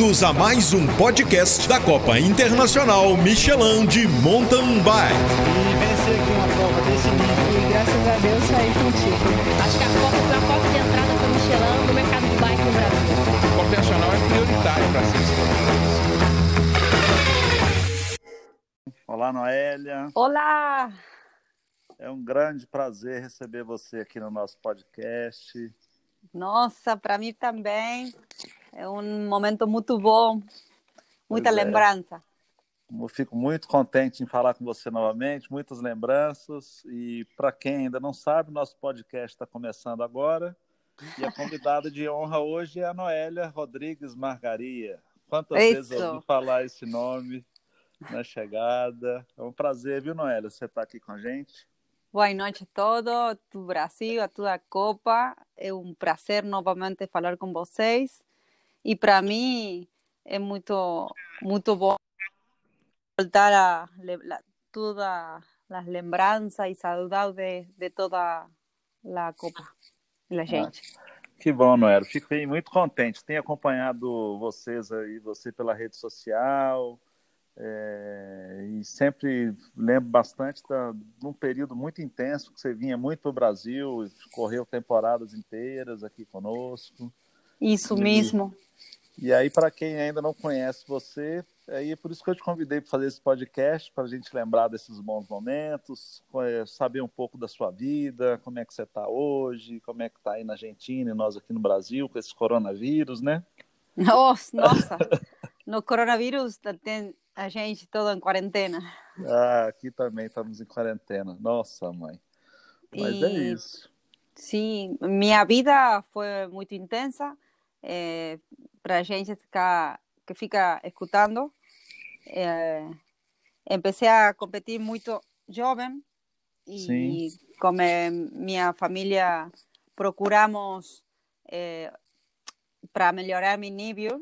Bem-vindos a mais um podcast da Copa Internacional Michelin de Mountain Bike. E vencer aqui uma prova desse nível. E graças a Deus saí contigo. Acho que a Copa foi a porta de entrada para o Michelin no mercado de bike no Brasil. A Copa Internacional é prioritária para ser. Olá, Noélia. Olá! É um grande prazer receber você aqui no nosso podcast. Nossa, para mim também é um momento muito bom, muita lembrança. Eu fico muito contente em falar com você novamente, muitas lembranças. E para quem ainda não sabe, nosso podcast está começando agora. E a convidada de honra hoje é a Noélia Rodrigues Margaria. Quantas vezes eu ouvi falar esse nome na chegada? É um prazer, viu, Noélia, você estar aqui com a gente. Boa noite a todos, do Brasil, a toda a Copa. É um prazer novamente falar com vocês. E para mim é muito bom voltar a todas as lembranças e saudades de toda a Copa, da gente. Que bom, Noélia. Fico muito contente. Tenho acompanhado vocês aí, você pela rede social. E sempre lembro bastante de um período muito intenso que você vinha muito para o Brasil, correu temporadas inteiras aqui conosco. Isso mesmo. E aí, para quem ainda não conhece você, é por isso que eu te convidei para fazer esse podcast, para a gente lembrar desses bons momentos, saber um pouco da sua vida, como é que você está hoje, como é que está aí na Argentina e nós aqui no Brasil com esse coronavírus, né? Nossa! No coronavírus tem a gente toda em quarentena. Aqui também estamos em quarentena. Nossa, mãe. Mas é isso. Sim, minha vida foi muito intensa. Para a gente que fica escutando. Comecei a competir muito jovem. E como minha família procuramos para melhorar meu nível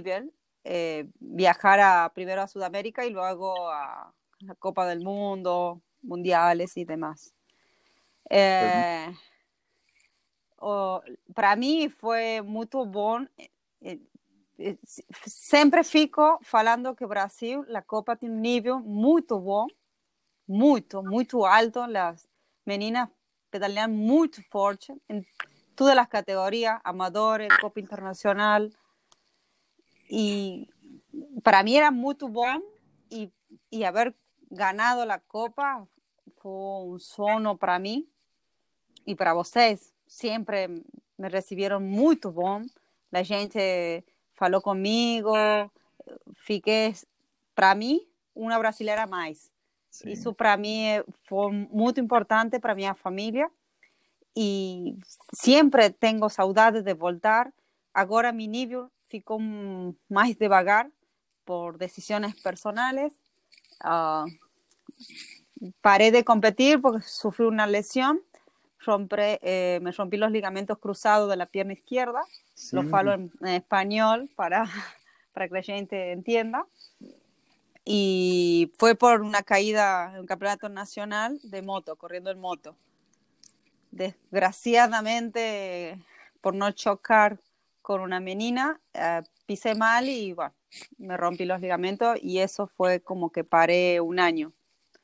viajar primero a Sudamérica y luego a la Copa del Mundo, mundiales y demás. Para mí fue muy bom. Sempre fico falando que Brasil, la Copa tiene un nivel muy bom, muito alto. As meninas pedalean muito forte en todas las categorías, amadores, Copa Internacional. Y para mí era muy bom y haber ganado la Copa fue un sono para mí y para vocês. Siempre me recibieron muy bom. La gente falou comigo. Fiquei, para mí, una brasileira mais. Sim. Isso para mí foi muito importante para minha família y siempre tengo saudade de voltar. Agora mi nível ficou mais devagar por decisiones personales. Paré de competir porque sufrí una lesión. Me rompí los ligamentos cruzados de la pierna izquierda. Sí. Lo falo en español para que la gente entienda. Y fue por una caída en un campeonato nacional de moto, corriendo en moto. Desgraciadamente, por no chocar con una menina, pisé mal y bueno, me rompí los ligamentos y eso fue como que paré un año.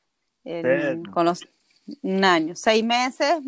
Un año, 6 meses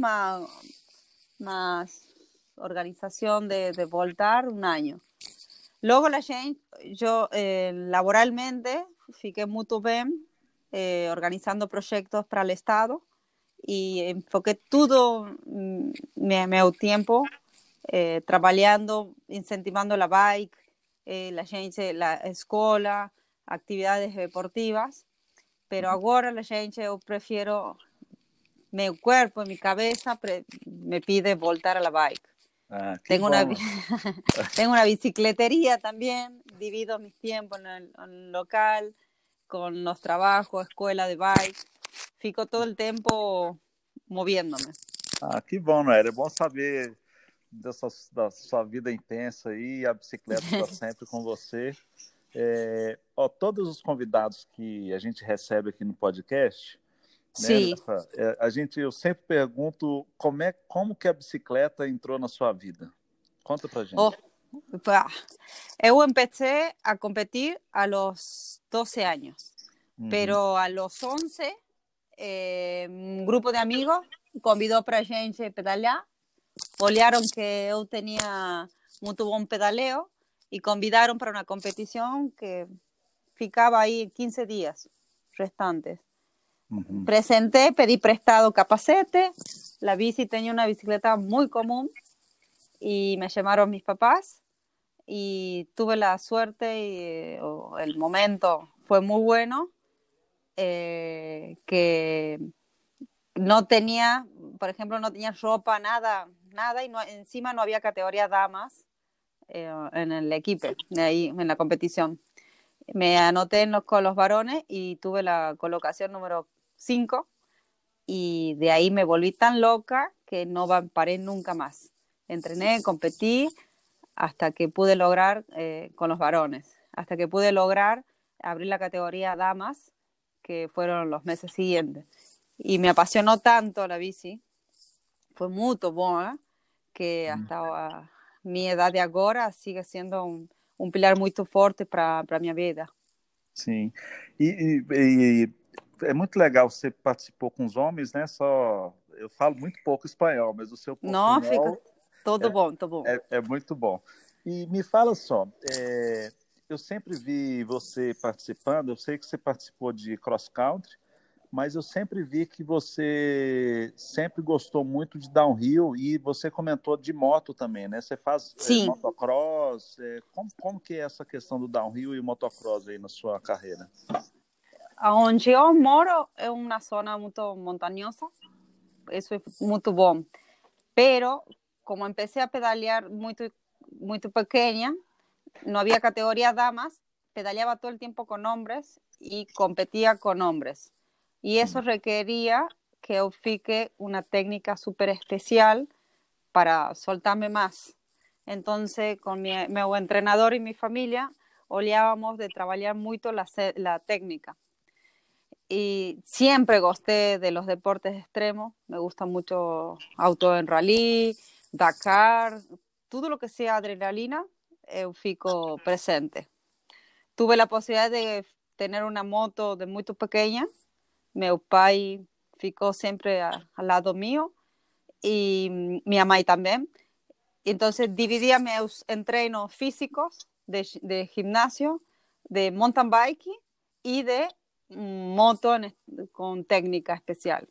más organización de voltar, un año. Luego yo laboralmente fiquei muito bem organizando proyectos para el Estado y enfoqué todo mi tiempo trabajando, incentivando la bike, la escola, actividades deportivas, pero ahora yo prefiero, mi cuerpo y mi cabeza me pide voltar a la bike. Tengo una bicicletería también, divido mis tiempos en el local, con los trabajos, escuela de bike, fico todo el tiempo moviéndome. Que bom, Noélia, é bom saber da sua vida intensa aí, a bicicleta está sempre com você. Todos os convidados que a gente recebe aqui no podcast, Sim. Né, eu sempre pergunto como que a bicicleta entrou na sua vida. Conta pra gente. Pá, eu empecé a competir a los 12 años, pero a los 11 um grupo de amigos convidou para a gente pedalhar, olharam que eu tinha muito bom pedaleo e convidaram para uma competição que ficava aí 15 dias restantes. Presenté, pedí prestado capacete, la bici tenía una bicicleta muy común y me llamaron mis papás y tuve la suerte y el momento fue muy bueno, que no tenía, por ejemplo, no tenía ropa, nada, y encima no había categoría damas en el equipo, ahí en la competición. Me anoté con los varones y tuve la colocación número 5 y de ahí me volví tan loca que no paré nunca más. Entrené, competí hasta que pude lograr con los varones, hasta que pude lograr abrir la categoría damas, que fueron los meses siguientes. Y me apasionó tanto la bici, fue muy buena, que hasta mi edad de agora sigue sendo um pilar muito forte para a minha vida. Sim. E é muito legal, você participou com os homens, né? Só eu falo muito pouco espanhol, mas o seu Não, portunhol fica todo bom, todo bom. é muito bom. E me fala só, eu sempre vi você participando, eu sei que você participou de cross country, mas eu sempre vi que você sempre gostou muito de downhill e você comentou de moto também, né? Você faz motocross, como que é essa questão do downhill e motocross aí na sua carreira? Onde eu moro é uma zona muito montanhosa, isso é muito bom, pero como empecé a pedalear muito pequeña, no había categoría damas, pedaleaba todo el tiempo con hombres y competía con hombres. Y eso requería que eu fique una técnica súper especial para soltarme más. Entonces, con meu entrenador y mi familia, olhábamos de trabajar mucho la técnica. Y siempre gosté de los deportes extremos. Me gusta mucho auto en rally, Dakar, todo lo que sea adrenalina, eu fico presente. Tuve la posibilidad de tener una moto de muy pequeña. Meu pai ficou sempre ao lado mío e minha mãe também. Entonces dividía meus treinos físicos de gimnasio, de mountain bike y de moto con técnica especial.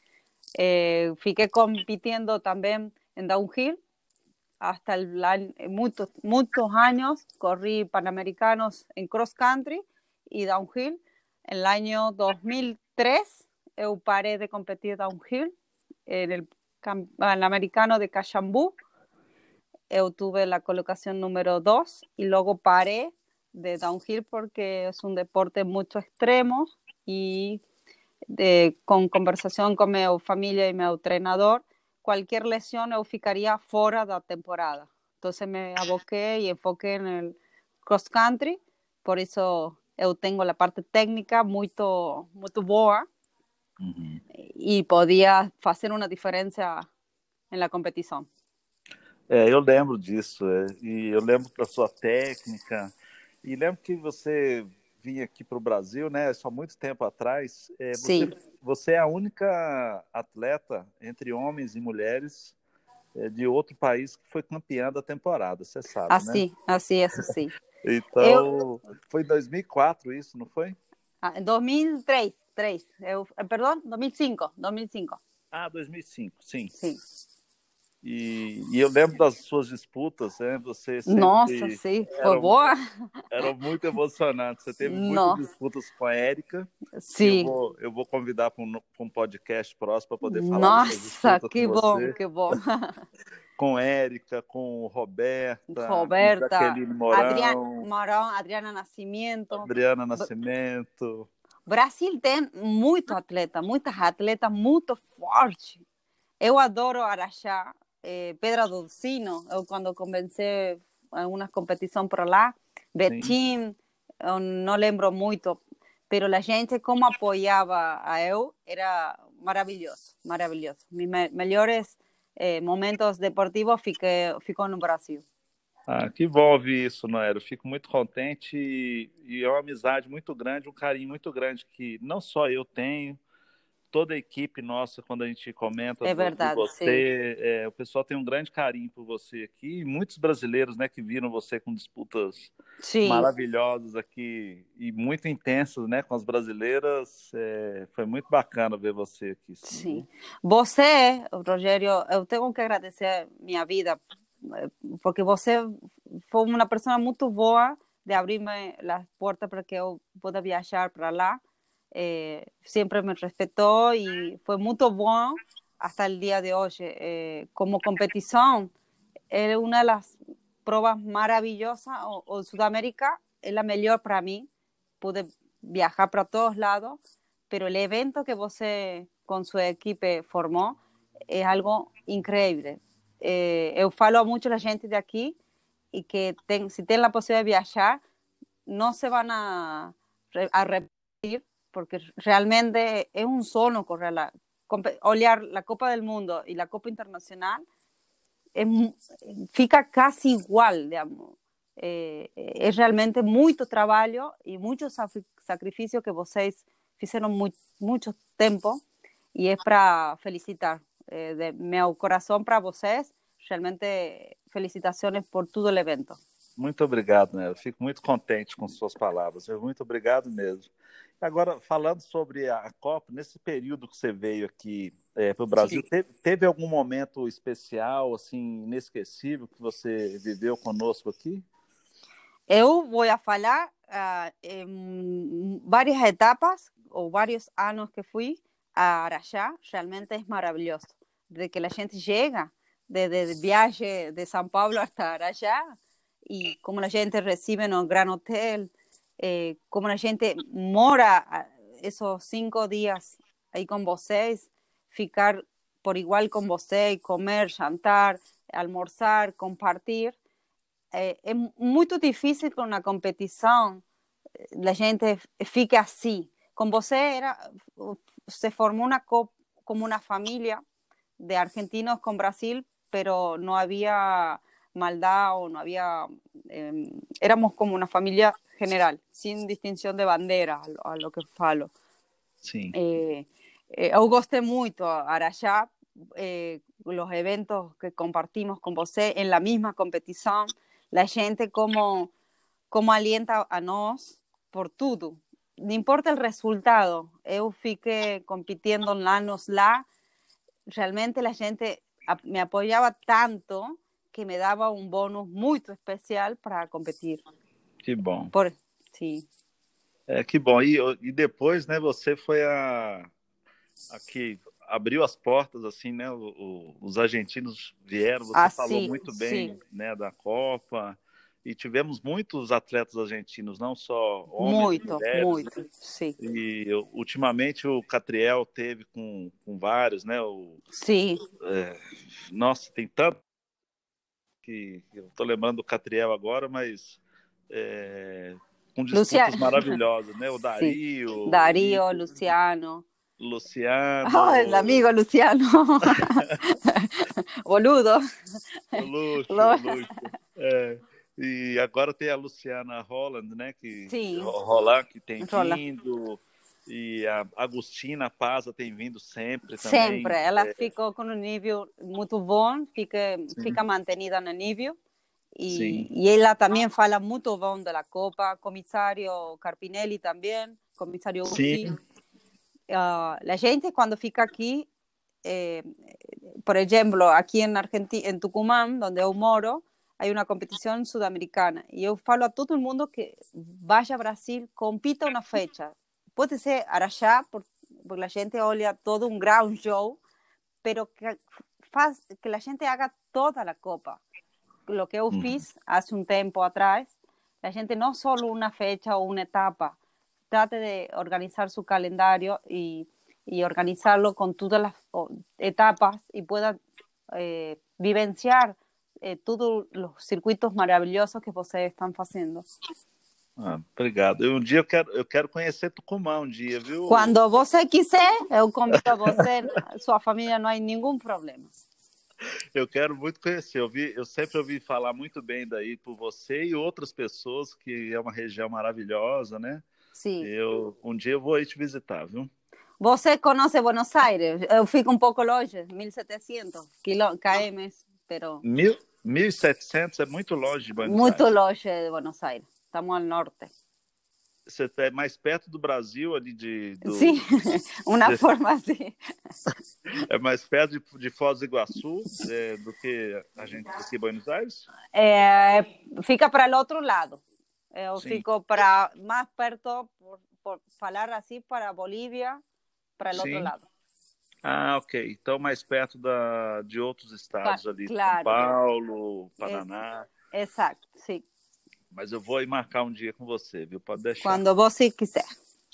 Fiqué compitiendo también en downhill hasta muchos años. Corrí panamericanos en cross country y downhill. En el año 2003 eu paré de competir downhill en el americano de Cachambú. Eu tuve la colocación número 2 y luego paré de downhill porque es un deporte mucho extremo y con conversación con mi familia y mi entrenador, cualquier lesión eu ficaría fuera da temporada. Entonces me aboqué y enfoqué en el cross country, por eso eu tenho a parte técnica muito boa e podia fazer uma diferença na competição. Eu lembro disso, e eu lembro da sua técnica, e lembro que você vinha aqui para o Brasil, né, só muito tempo atrás. Você é a única atleta entre homens e mulheres de outro país que foi campeã da temporada, você sabe, né? Assim. Então, foi em 2004 isso, não foi? Em 2003. Perdão, 2005. Ah, 2005, sim. Sim. E eu lembro das suas disputas, né? Você sempre... Nossa, sim, foi boa. Eram muito emocionantes. Você teve muitas disputas com a Érica. Sim. Eu vou convidar para um podcast próximo para poder falar. Nossa, que bom. Com Érica, com Roberta, Jaqueline Mourão, Adriana Nascimento. Brasil tem muitas atletas muito fortes. Eu adoro Araxá, Pedra do Sino. Eu, quando comecei algumas competições por lá, Betim, eu não lembro muito, mas a gente, como apoiava a eu, era maravilhoso. Mis melhores momentos deportivos ficou no Brasil. Ah, que bom ouvir isso, Noé. Eu fico muito contente e é uma amizade muito grande, um carinho muito grande que não só eu tenho, toda a equipe nossa, quando a gente comenta É de verdade, sim. você, o pessoal tem um grande carinho por você aqui, e muitos brasileiros, né, que viram você com disputas Sim, maravilhosas aqui e muito intensas, né, com as brasileiras, foi muito bacana ver você aqui, sim, sim. viu? Você, Rogério, eu tenho que agradecer minha vida, porque você foi uma pessoa muito boa de abrir-me as portas para que eu possa viajar para lá. Sempre me respeitou e foi muito bom até o dia de hoje. Como competição, é uma das provas maravilhosas. O Sudamérica é a melhor para mim. Pude viajar para todos lados, pero el evento que você con su equipe formó es algo increíble. Eu falo a mucha gente de aquí y que si tienen la posibilidad de viajar, no se van a arrepentir porque realmente es un sono correr olhar la Copa del Mundo y la Copa Internacional es, fica casi igual, digamos. É realmente muito trabalho e muito sacrifício que vocês fizeram muito tempo e é para felicitar de meu coração para vocês. Realmente, felicitações por todo o evento. Muito obrigado, né? Eu fico muito contente com suas palavras. Muito obrigado mesmo. Agora, falando sobre a Copa, nesse período que você veio aqui para o Brasil, Sim. teve algum momento especial, assim, inesquecível que você viveu conosco aqui? Eu vou falar em várias etapas ou vários anos que fui a Araxá. Realmente é maravilhoso. Desde que a gente chega, desde el viaje de São Paulo hasta Araxá, y como la gente recibe en un gran hotel, como la gente mora esos 5 días ahí con vocês, ficar por igual con vocês, comer, jantar, almorzar, compartir. É muito difícil com a competição a gente fique assim. Com você se formou como uma família de argentinos com Brasil, pero no había maldad o no había, éramos como una familia general, sin distinción de bandera, a lo que falo. Sim. Eu gostei muito, Araxá, los eventos que compartimos con você en la misma competición, la gente como alienta a nós por tudo. No importa el resultado, eu fiquei compitiendo anos lá, realmente la gente me apoyaba tanto que me daba un bonus muy especial para competir. Que bom. Sí. Que bom. E depois, né, você foi a que abriu as portas, assim, né? Os argentinos vieram, você falou muito bem, né, da Copa. E tivemos muitos atletas argentinos, não só homens e mulheres. Muito, sim. E ultimamente o Catriel teve com vários, né? Sim. Nossa, tem tanto que eu estou lembrando do Catriel agora, mas com disputas maravilhosas, né? O Dario. Sim. Dario, Luciano. Luciano. El amigo Luciano. Boludo. Luxo. E agora tem a Luciana Holland, né? Roland, que tem vindo. E a Agustina Paza tem vindo sempre também. Sempre. Ela ficou com um nível muito bom, fica mantenida no nível. E ela também fala muito bom da Copa. Comissário Carpinelli também, comissário Uzi. La gente quando fica aqui, por exemplo, aqui em Argentina, em Tucumán, onde eu moro, há uma competição sudamericana. E eu falo a todo mundo que vá a Brasil, compita uma fecha. Pode ser Araxá, porque a gente olha todo um ground show, pero que a gente haga toda a Copa. Lo que eu fiz há tempo atrás, a gente não só uma fecha ou uma etapa, trate de organizar su calendario y organizarlo con todas las etapas y pueda vivenciar todos los circuitos maravillosos que vocês estão fazendo. Obrigado. Um dia eu quero conhecer Tucumã um dia, viu? Quando você quiser, eu convido a você, sua família, não há nenhum problema. Eu quero muito conhecer. Eu sempre ouvi falar muito bem daí por você e outras pessoas, que é uma região maravilhosa, né? Sí. Um dia eu vou aí te visitar, viu? Você conhece Buenos Aires? Eu fico um pouco longe, 1.700 km, pero 1.700 é muito longe de Buenos muito Aires. longe de Buenos Aires. Estamos ao norte. Você é mais perto do Brasil ali Sí, una de- forma así. é mais perto de Foz do Iguaçu do que a gente aqui em Buenos Aires? Fica para el otro lado. Eu Sim. fico para más perto, por falar así, para Bolívia, para el otro Sim. lado. Ah, ok. Então mais perto de outros estados ali, São Claro. Paulo, Paraná. Exacto, sí. Mas eu vou aí marcar um dia com você, viu? Pode deixar. Cuando vos sí quiser.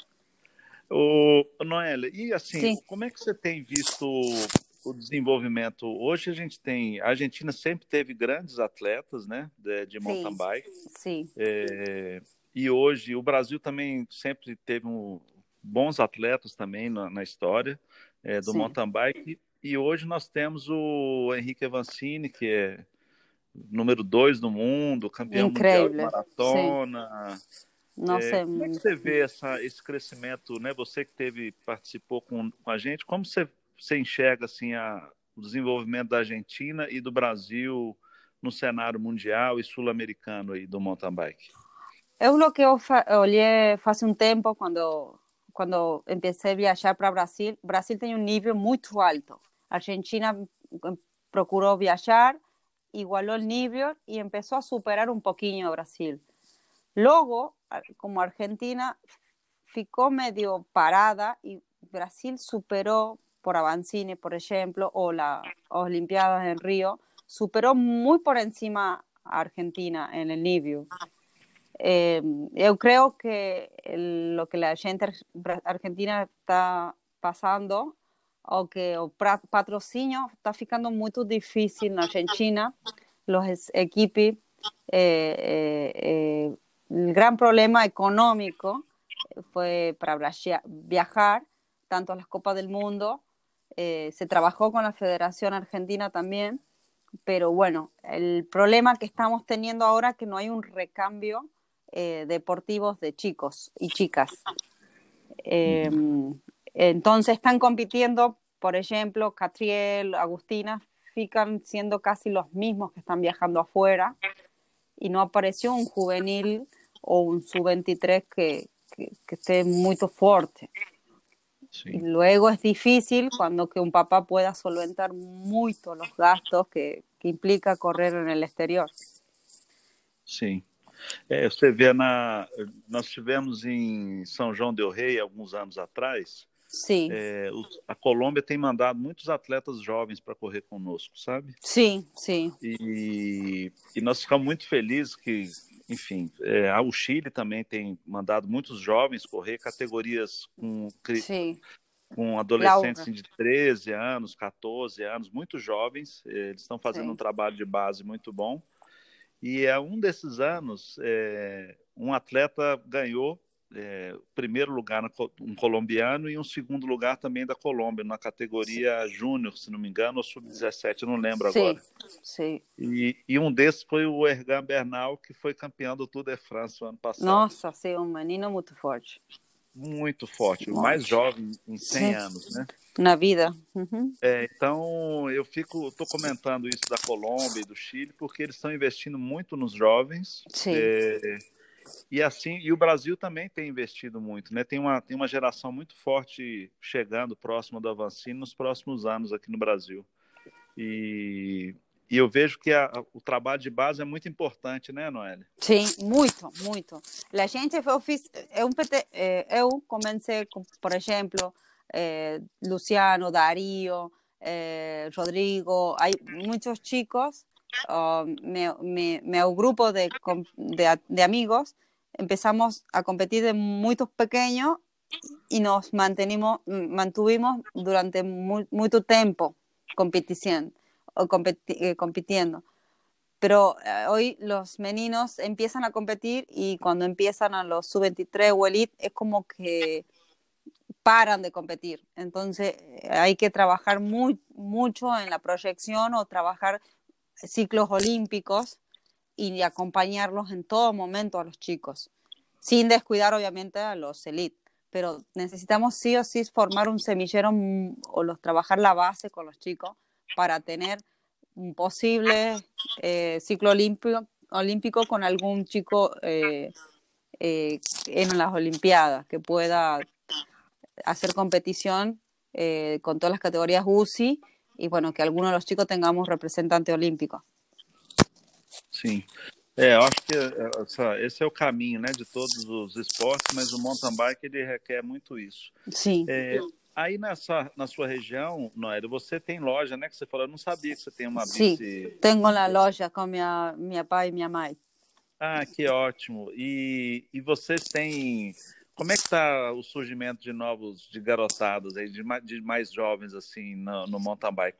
Noélia, e assim, Sim. como é que você tem visto o desenvolvimento? Hoje a Argentina sempre teve grandes atletas, né, de mountain bike. Sí. E hoje o Brasil também sempre teve bons atletas também na história do Sim. mountain bike. E hoje nós temos o Henrique Avancini, que é número 2 no mundo, campeão mundial de Increíble. maratona. No sé. Como é que você vê esse crescimento, né? Você que participou com a gente, como você enxerga assim, o desenvolvimento da Argentina e do Brasil no cenário mundial e sul-americano aí do mountain bike? Es lo que olhei hace un tiempo cuando empecé a viajar para Brasil. Brasil tiene un nivel muy alto. Argentina procuró viajar, igualó el nivel y empezó a superar un poquito a Brasil. Luego, como Argentina ficó medio parada y Brasil superó por Avancini, por ejemplo, o las Olimpiadas en Río, superó muy por encima a Argentina en el nivel. Eu creo que lo que la gente argentina está passando, o que o patrocínio está ficando muito difícil na Argentina, los equipos, el gran problema económico fue para viajar, tanto a las Copas del Mundo, se trabajó con la Federación Argentina también, pero bueno, el problema que estamos teniendo ahora es que no hay un recambio deportivos de chicos y chicas. Entonces están compitiendo, por ejemplo, Catriel, Agustina, fican siendo casi los mismos que están viajando afuera y no apareció un juvenil o un sub-23 que esté muy fuerte. Sí. Y luego es difícil cuando que un papá pueda solventar mucho los gastos que implica correr en el exterior. Sim. Você vê, nós tivemos em São João del Rei, alguns anos atrás, Sim. A Colômbia tem mandado muitos atletas jovens para correr conosco, sabe? Sim, sim. E nós ficamos muito felizes que, enfim, o Chile também tem mandado muitos jovens correr, categorias com adolescentes de 13 anos, 14 anos, muito jovens. Eles estão fazendo um trabalho de base muito bom. E um desses anos, um atleta ganhou primeiro lugar, um colombiano, e um segundo lugar também da Colômbia, na categoria júnior, se não me engano, ou sub-17, eu não lembro agora. Sim. E um desses foi o Ergan Bernal, que foi campeão do Tour de France no ano passado. Nossa, sim, um menino muito forte. Muito forte, o mais jovem em 100 anos, né? Na vida. Uhum. Então, eu estou comentando isso da Colômbia e do Chile, porque eles estão investindo muito nos jovens. Sim. E o Brasil também tem investido muito, né? Tem uma geração muito forte chegando próximo do Avancini nos próximos anos aqui no Brasil. E eu vejo que o trabalho de base é muito importante, né, Noélia? Sim, muito, muito. A gente, eu comecei, por exemplo, Luciano, Darío, Rodrigo, hay muchos chicos, meu grupo de amigos, empezamos a competir de muy pequeños y nos mantuvimos durante mucho tiempo compitiendo. Pero hoy los meninos empiezan a competir y cuando empiezan a los sub-23 o elite es como que paran de competir. Entonces hay que trabajar mucho en la proyección o trabajar ciclos olímpicos y acompañarlos en todo momento a los chicos, sin descuidar obviamente a los elite. Pero necesitamos sí o sí formar un semillero o trabajar la base con los chicos para tener un posible ciclo olímpico con algún chico en las Olimpiadas que pueda hacer competición con todas las categorías UCI y bueno, que algunos de los chicos tengamos representante olímpico. Sim. Eu acho que esse é o caminho, né, de todos os esportes, mas o mountain bike ele requer muito isso. Sim. Aí na sua região, Noélia, você tem loja, né, que você falou, eu não sabia que você tem uma Sim, bici. tenho a loja com minha pai e minha mãe. Ah, que ótimo. E vocês têm... Como é que está o surgimento de garotadas aí, de mais jovens assim no mountain bike?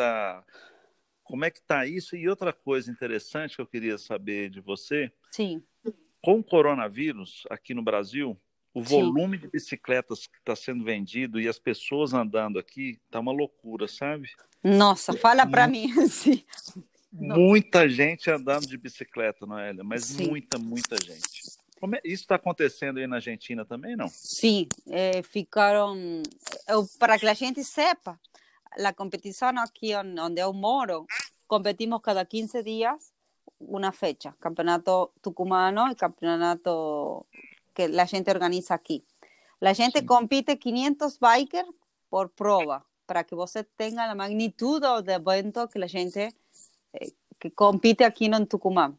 Como é que tá isso? E outra coisa interessante que eu queria saber de você, Sim. com o coronavírus aqui no Brasil, o volume de bicicletas que está sendo vendido e as pessoas andando aqui tá uma loucura, sabe? Nossa, fala para mim. Sim. Muita gente andando de bicicleta, Noélia, mas Sim. muita gente. Isso está acontecendo aí na Argentina também, não? Sim, ficaram... para que a gente sepa, a competição aqui onde eu moro, competimos cada 15 dias uma fecha, campeonato tucumano e campeonato que a gente organiza aqui. A gente compite 500 bikers por prova, para que você tenha a magnitude do evento que a gente que compite aqui no Tucumán.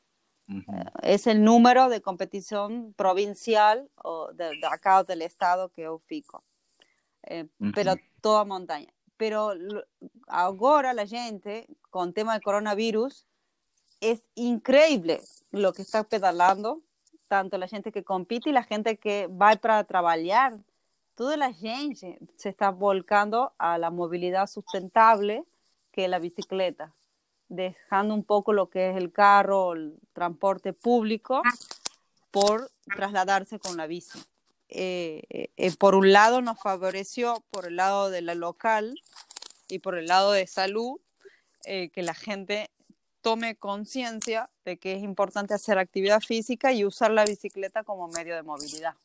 Es el número de competición provincial de acá del estado que yo fico. Pero toda montaña. Pero ahora la gente, con el tema del coronavirus, es increíble lo que está pedalando, tanto la gente que compite y la gente que va para trabajar. Toda la gente se está volcando a la movilidad sustentable que es la bicicleta, dejando un poco lo que es el carro, el transporte público, por trasladarse con la bici. Por un lado nos favoreció, por el lado de la local y por el lado de salud, que la gente tome conciencia de que es importante hacer actividad física y usar la bicicleta como medio de movilidad.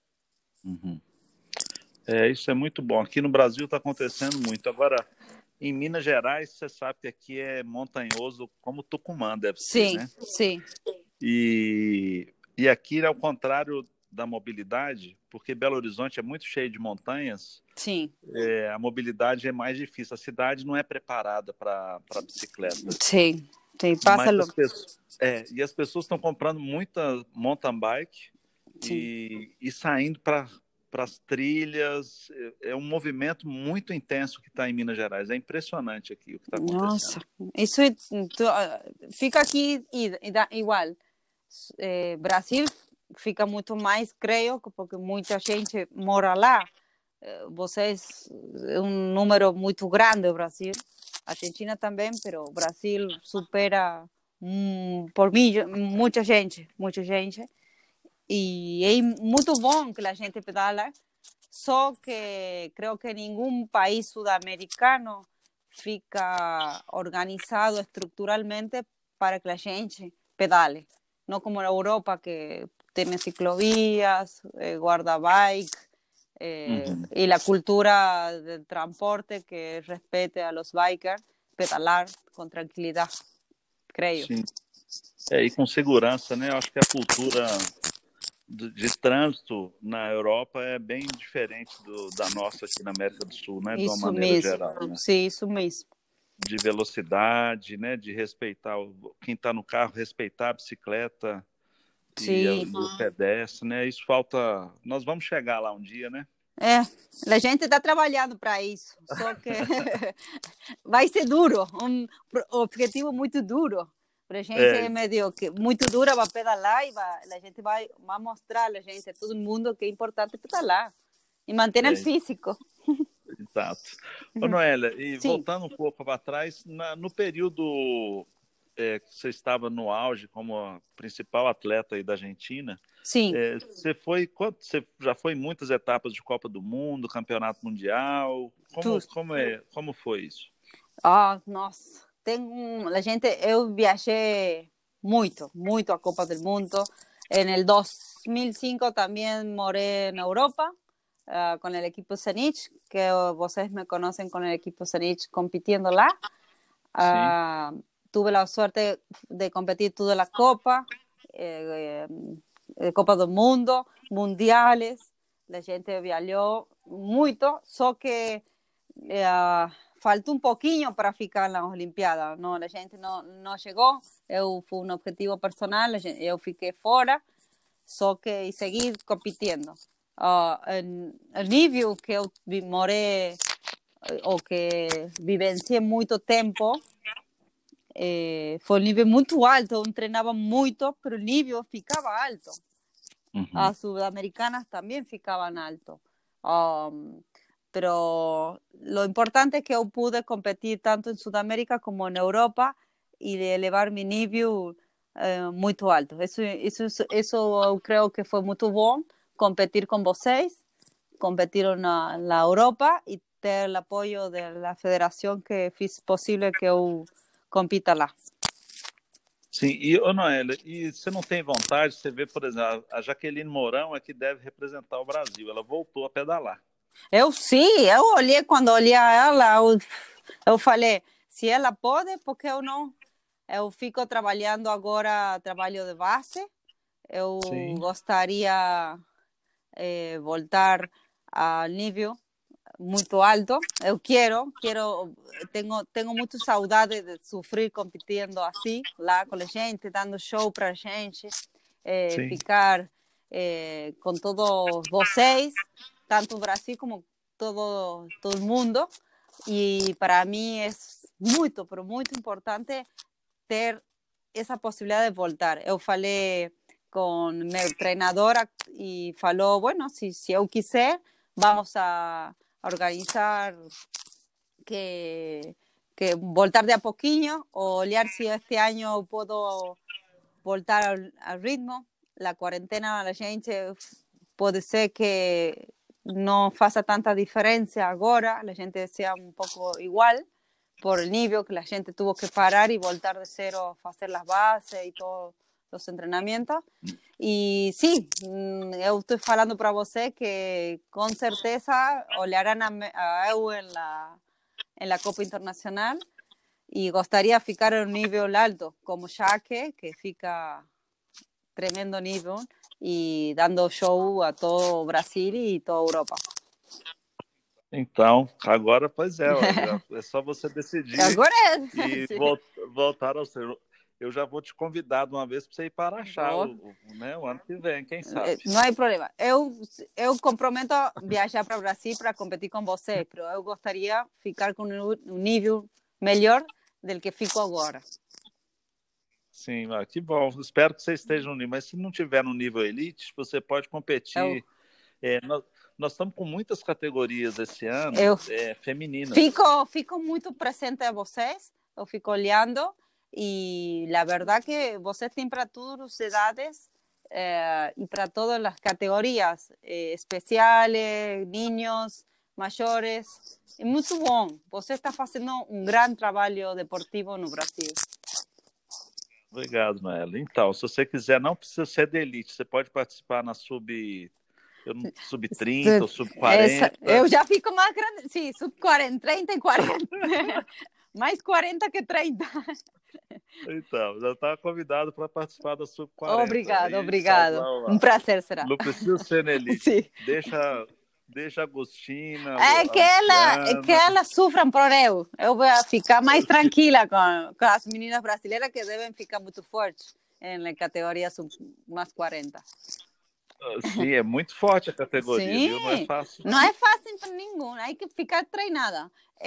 Isso é muito bom. Aqui no Brasil está acontecendo muito. Agora, em Minas Gerais, você sabe que aqui é montanhoso como Tucumã deve ser, né? Sim. E aqui, ao contrário da mobilidade, porque Belo Horizonte é muito cheio de montanhas, Sim. A mobilidade é mais difícil. A cidade não é preparada para bicicleta. Sim, passa e as pessoas estão comprando muita mountain bike e saindo para as trilhas. É um movimento muito intenso que está em Minas Gerais. É impressionante aqui o que está acontecendo. Nossa, isso fica aqui igual. Brasil fica muito mais, creio, porque muita gente mora lá. Vocês é um número muito grande o Brasil. A Argentina também, mas o Brasil supera por mim muita gente. E é muito bom que a gente pedala, só que creio que nenhum país sudamericano fica organizado estruturalmente para que a gente pedale. Não como na Europa, que tem ciclovías, guarda-bike, y la cultura del transporte que respete a los bikers, pedalar con tranquilidad, creio. Sim. E com segurança, né? Eu acho que a cultura de trânsito na Europa é bem diferente da nossa aqui na América do Sul, né? De uma maneira geral, né? Sim, isso mesmo. De velocidade, né? De respeitar quem está no carro, respeitar a bicicleta. E o pedestre, né? Isso falta... Nós vamos chegar lá um dia, né? A gente está trabalhando para isso, só que vai ser duro, um objetivo muito duro. Para a gente é meio que muito duro para pedalar e a gente vai mostrar a gente, a todo mundo, que é importante pedalar e manter o físico. Exato. Ô, Noélia, e voltando um pouco para trás, no período você estava no auge como a principal atleta aí da Argentina. Sim. Você já foi em muitas etapas de Copa do Mundo, Campeonato Mundial? Como foi isso? Nossa, eu viajé muito a Copa del Mundo. En el 2005 también moré en Europa con el equipo Zenit, que vocês me conocen con el equipo Zenit compitiendo lá. Tuve la suerte de competir toda la Copa, Copa do Mundo, mundiales. La gente viajó muito, só que faltou um pouquinho para ficar nas Olimpíadas. Não, a gente não chegou. Foi um objetivo personal, eu fiquei fora, só que segui competindo. O nível que eu morei, ou que vivenciei muito tempo, foi um nível muito alto. Eu treinava muito, mas o nível ficava alto. As sudamericanas também ficavam alto. Pero lo importante es que yo pude competir tanto en Sudamérica como en Europa y de elevar mi nivel muy alto. Eso creo que fue muy bueno, competir con vocês, competir en la Europa y tener el apoyo de la federación que hizo posible que yo compita lá. Sim, Noélia, e você não tem vontade, você vê, por exemplo, a Jaqueline Mourão é que deve representar o Brasil, ela voltou a pedalar. Eu olhei, quando olhei ela, eu falei, se ela pode, por que eu não? Eu fico trabalhando agora, trabalho de base, eu gostaria voltar a nível muito alto, eu tenho muito saudade de sofrer competindo assim, lá com a gente, dando show pra gente, ficar com todos vocês, tanto o Brasil como todo o mundo, e para mim é muito, pero muito importante ter essa possibilidade de voltar. Eu falei com meu treinador e falou, bueno, se eu quiser, vamos a organizar que voltar de a pouquinho, olhar se este ano eu posso voltar ao ritmo. A quarentena, a gente pode ser que não faça tanta diferença agora, a gente seja um pouco igual, por el nível que a gente tuvo que parar e voltar de zero, fazer as bases e todos os treinamentos. E sim, eu estou falando para você que com certeza olharão a eu em la Copa Internacional e gostaria de ficar em um nível alto, como Jaque, que fica tremendo nível e dando show a todo o Brasil e toda a Europa. Então, agora, pois é só você decidir agora e voltar ao seu... Eu já vou te convidar de uma vez para você ir para Araxá, o ano que vem, quem sabe? Não há problema. Eu comprometo viajar para o Brasil para competir com você, mas eu gostaria de ficar com um nível melhor do que fico agora. Sim, que bom. Espero que você esteja no nível, mas se não tiver no nível elite, você pode competir. Nós estamos com muitas categorias esse ano, femininas. Fico muito presente a vocês, eu fico olhando e a verdade que vocês têm para todas as idades e para todas as categorias, especiais, niños, maiores. É muito bom. Você está fazendo um grande trabalho deportivo no Brasil. Obrigado, Noélia. Então, se você quiser, não precisa ser de elite, você pode participar na sub-30 ou sub-40. Eu já fico mais grande, sim, sub-40, 30 e 40. Mais 40 que 30. Então, já está convidado para participar da sub-40. Obrigado. Um prazer será. Não precisa ser na elite. Sim. Deixa a Agostina. Que elas sofram por eu. Eu vou ficar mais tranquila com as meninas brasileiras que devem ficar muito fortes na categoria mais 40. Sim, é muito forte a categoria, sim, viu? Não é fácil. Não é fácil para ninguém, hay que ficar treinada.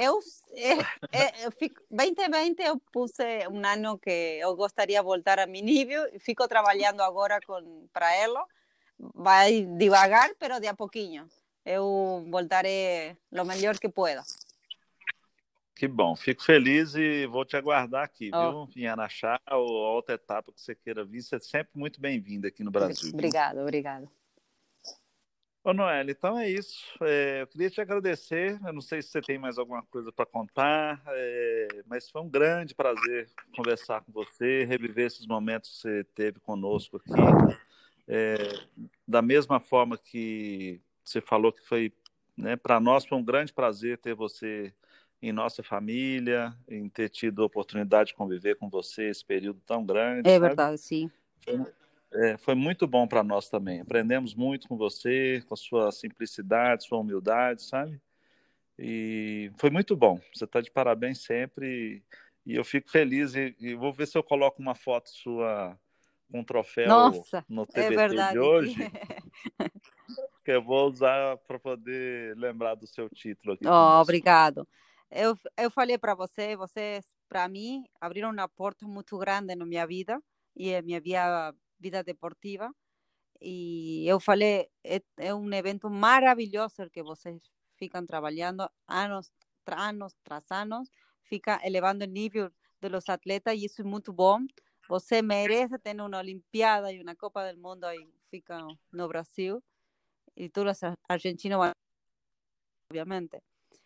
2020 eu puse um ano que eu gostaria de voltar a meu nível e fico trabalhando agora para ela. Vai devagar, pero de a pouquinho. Eu voltarei o melhor que pueda. Que bom, fico feliz e vou te aguardar aqui, Oh, viu? Em Araxá ou a outra etapa que você queira vir, você é sempre muito bem-vindo aqui no Brasil, viu? obrigado, obrigado. Ô, Noelle, então é isso. Eu queria te agradecer. Eu não sei se você tem mais alguma coisa para contar, mas foi um grande prazer conversar com você, reviver esses momentos que você teve conosco aqui. É, da mesma forma que você falou que foi, né, para nós foi um grande prazer ter você em nossa família, em ter tido a oportunidade de conviver com você esse período tão grande, É sabe? verdade, sim. Foi muito bom para nós também. Aprendemos muito com você, com a sua simplicidade, sua humildade, sabe? E foi muito bom. Você está de parabéns sempre. E eu fico feliz. E vou ver se eu coloco uma foto sua com um troféu Nossa, no é TBT de verdade, sim. hoje, que eu vou usar para poder lembrar do seu título aqui Oh, conosco. obrigado. Eu falei para você, vocês, para mim, abriram uma porta muito grande na minha vida e na minha vida deportiva. E eu falei, é um evento maravilhoso el que vocês ficam trabalhando anos tras anos, fica elevando o nível dos atletas e isso é muito bom. Você merece ter uma Olimpíada e uma Copa do Mundo aí fica no Brasil e todos os argentinos vão, obviamente.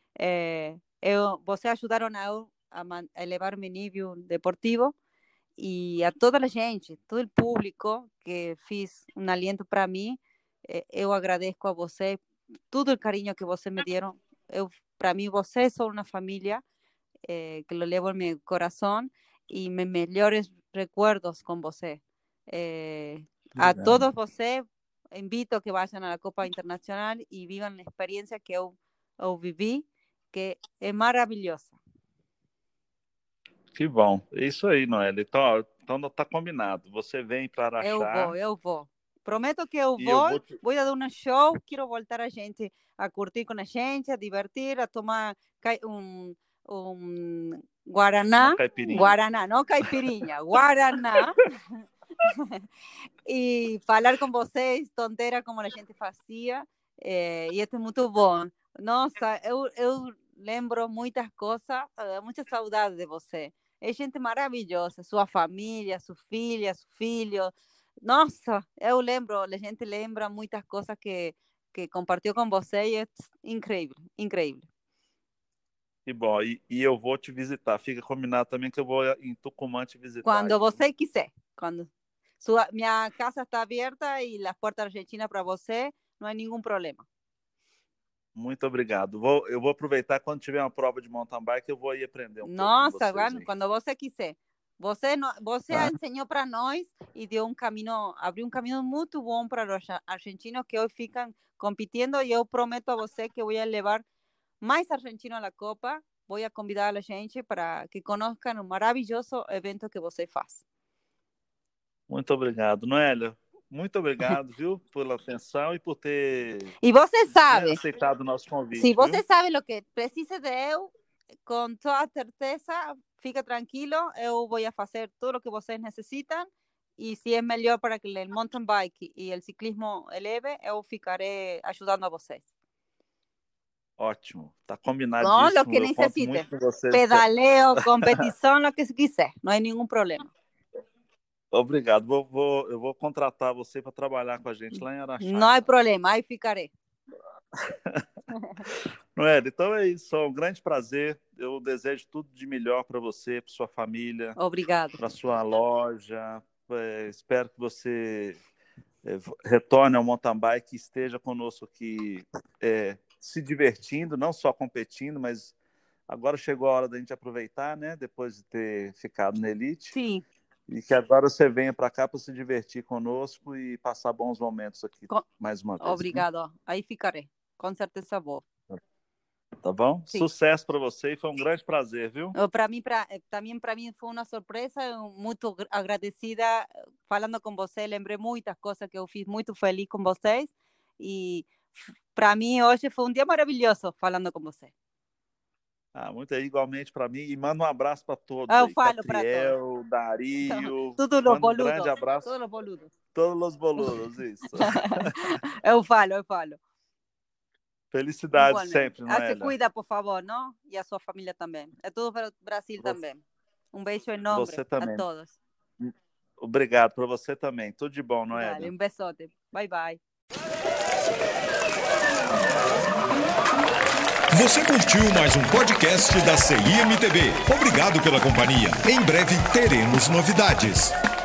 Vocês ajudaram a elevar meu nível deportivo e a toda a gente, todo o público que fez um aliento para mim, eu agradeço a você, todo o carinho que vocês me deram. Para mim, vocês são uma família que lo levo no meu coração e meus melhores recuerdos com você. A Obrigado. todos vocês, invito a que vayam à Copa Internacional e vivam a experiência que eu vivi, que é maravilhosa. Que bom. É isso aí, Noelle. Então tá combinado. Você vem para Araxá Eu vou. Prometo que eu e eu vou, vou te... vou dar um show, quero voltar a gente a curtir com a gente, a divertir, a tomar um uma guaraná, caipirinha. guaraná, não caipirinha, guaraná, e falar com vocês, tonteira como a gente fazia, e isso é muito bom. Nossa, eu lembro muitas coisas, muita saudade de você. É gente maravilhosa, sua família, sua filha, seu filho. Nossa, eu lembro, a gente lembra muitas coisas que compartilhou com você e é incrível, incrível. Que bom. E eu vou te visitar. Fica combinado também que eu vou em Tucumã te visitar. Quando Aí. você quiser. Minha casa está aberta e as portas argentinas para você, não há nenhum problema. Muito obrigado. Eu vou aproveitar quando tiver uma prova de mountain bike, eu vou ir aprender um pouco com Nossa, vocês. quando você quiser. Você ensinou para nós e deu abriu um caminho muito bom para os argentinos que hoje ficam competindo e eu prometo a você que vou levar mais argentinos à Copa. Vou convidar a gente para que conozcam o maravilhoso evento que você faz. Muito obrigado, Noélia. Muito obrigado, viu, pela atenção e por ter E você sabe, aceitado o nosso convite. se você viu? sabe o que precisa de eu, com toda certeza, fica tranquilo, eu vou fazer tudo o que vocês necessitam e se é melhor para que o mountain bike e o ciclismo eleve, eu ficarei ajudando a vocês. Ótimo, tá combinadíssimo. Não, o que necessite. Vocês. Pedaleo, competição, o que quiser, não há nenhum problema. Obrigado. Eu vou contratar você para trabalhar com a gente lá em Araxá. Não há problema, aí ficarei. Noélia, então é isso. É um grande prazer. Eu desejo tudo de melhor para você, para sua família. Obrigado. Para sua loja. Espero que você retorne ao mountain bike e esteja conosco aqui se divertindo, não só competindo, mas agora chegou a hora da gente aproveitar, né? Depois de ter ficado na Elite. Sim. E que agora você venha para cá para se divertir conosco e passar bons momentos aqui mais uma vez. Obrigado. Né? Aí ficarei. Com certeza vou. Tá bom? Sim. Sucesso para você e foi um grande prazer, viu? Também para mim foi uma surpresa, muito agradecida falando com você, lembrei muitas coisas que eu fiz, muito feliz com vocês e para mim hoje foi um dia maravilhoso falando com você. Muito igualmente para mim e manda um abraço para todos. Eu falo para todos. Dario, todos os boludos. Um grande abraço. Todos os boludos. Todos os boludos, isso. eu falo. Felicidade Igualmente. sempre, Se Noélia. cuida, por favor, não? E a sua família também. É tudo para o Brasil também. Um beijo enorme Você também. a todos. Obrigado para você também. Tudo de bom, Noélia. Dale, um besote. Bye, bye. Você curtiu mais um podcast da CIMTV. Obrigado pela companhia. Em breve teremos novidades.